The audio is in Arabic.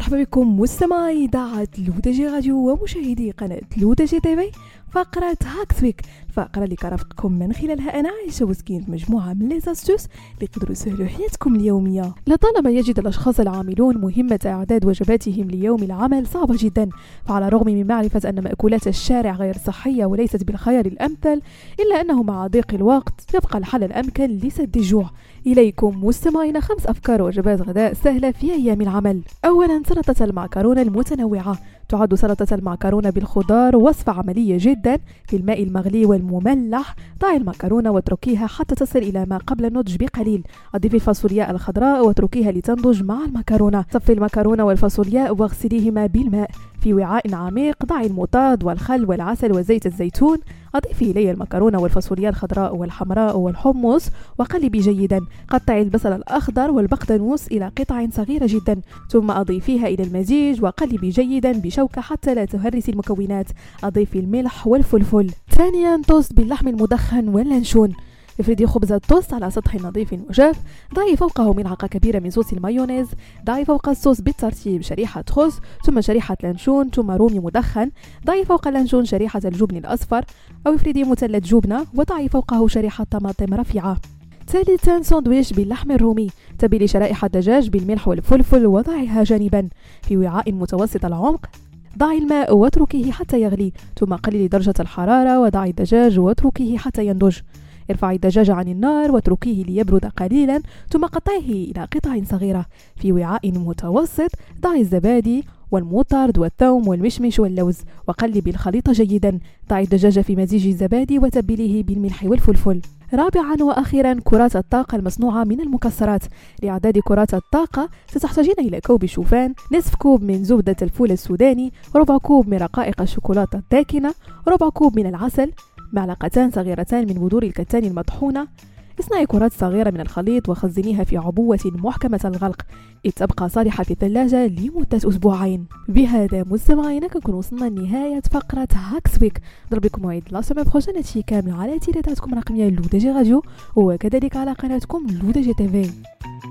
مرحبا بكم مستمعي إذاعة لودجي راديو ومشاهدي قناة لودجي تيفي. فقرة هاكسويك، الفقرة اللي كرفتكم من خلالها أنا عايشة وسكينت مجموعة من لي زاستوس اللي يقدروا يسهلوا حياتكم اليومية. لطالما يجد الأشخاص العاملون مهمة إعداد وجباتهم ليوم العمل صعبة جدا، فعلى الرغم من معرفة أن مأكولات الشارع غير صحية وليست بالخيار الأمثل، إلا أنه مع ضيق الوقت يبقى الحل الأمكن لسد الجوع. إليكم مستمعين 5 أفكار وجبات غداء سهلة في أيام العمل. أولا، سلطة المعكرونة المتنوعة. تعد سلطة المعكرونة بالخضار وصفة عملية جدا. في الماء المغلي والمملح ضعي المعكرونة واتركيها حتى تصل إلى ما قبل النضج بقليل. أضيفي الفاصولياء الخضراء واتركيها لتنضج مع المعكرونة. صفي المعكرونة والفاصولياء واغسليهما بالماء. في وعاء عميق ضعي المطاط والخل والعسل وزيت الزيتون. أضيفي إليه المعكرونة والفاصولياء الخضراء والحمراء والحمص وقلبي جيدا. قطعي البصل الأخضر والبقدونس إلى قطع صغيرة جدا، ثم أضيفيها إلى المزيج وقلبي جيدا بشوكة حتى لا تهرسي المكونات. أضيفي الملح والفلفل. ثانيا، توست باللحم المدخن واللانشون. افردي خبز التوست على سطح نظيف وجاف. ضعي فوقه ملعقة كبيرة من صوص المايونيز. ضعي فوق الصوص بالترتيب شريحة خبز، ثم شريحة لانشون، ثم رومي مدخن. ضعي فوق اللانشون شريحة الجبن الأصفر أو افردي مثلث جبنة وضعي فوقه شريحة طماطم رفيعة. ثالثا، ساندويش باللحم الرومي. تبلي شرائح الدجاج بالملح والفلفل وضعيها جانبا. في وعاء متوسط العمق ضعي الماء واتركيه حتى يغلي، ثم قللي درجة الحرارة وضعي الدجاج واتركيه حتى ينضج. ارفعي الدجاج عن النار واتركيه ليبرد قليلا، ثم قطعيه إلى قطع صغيرة. في وعاء متوسط ضعي الزبادي والمطرد والثوم والمشمش واللوز وقلبي الخليط جيدا. ضعي الدجاج في مزيج الزبادي وتبليه بالملح والفلفل. رابعا وأخيرا، كرات الطاقة المصنوعة من المكسرات. لإعداد كرات الطاقة ستحتاجين إلى كوب شوفان، نصف كوب من زبدة الفول السوداني، ربع كوب من رقائق الشوكولاتة الداكنة، ربع كوب من العسل، معلقتان صغيرتان من بذور الكتان المطحونة. اصنعي كرات صغيرة من الخليط وخزنيها في عبوة محكمة الغلق تبقى صالحة في الثلاجة لمدة 2 أسبوعين. بهذا مستمعينا كنكون وصلنا لنهاية فقرة هاكسويك. ضربكم موعد لا سومي بروجين هادشي كامل على تيليتاتكم الرقمية لودجي راديو وكذلك على قناتكم لودجي تيفي.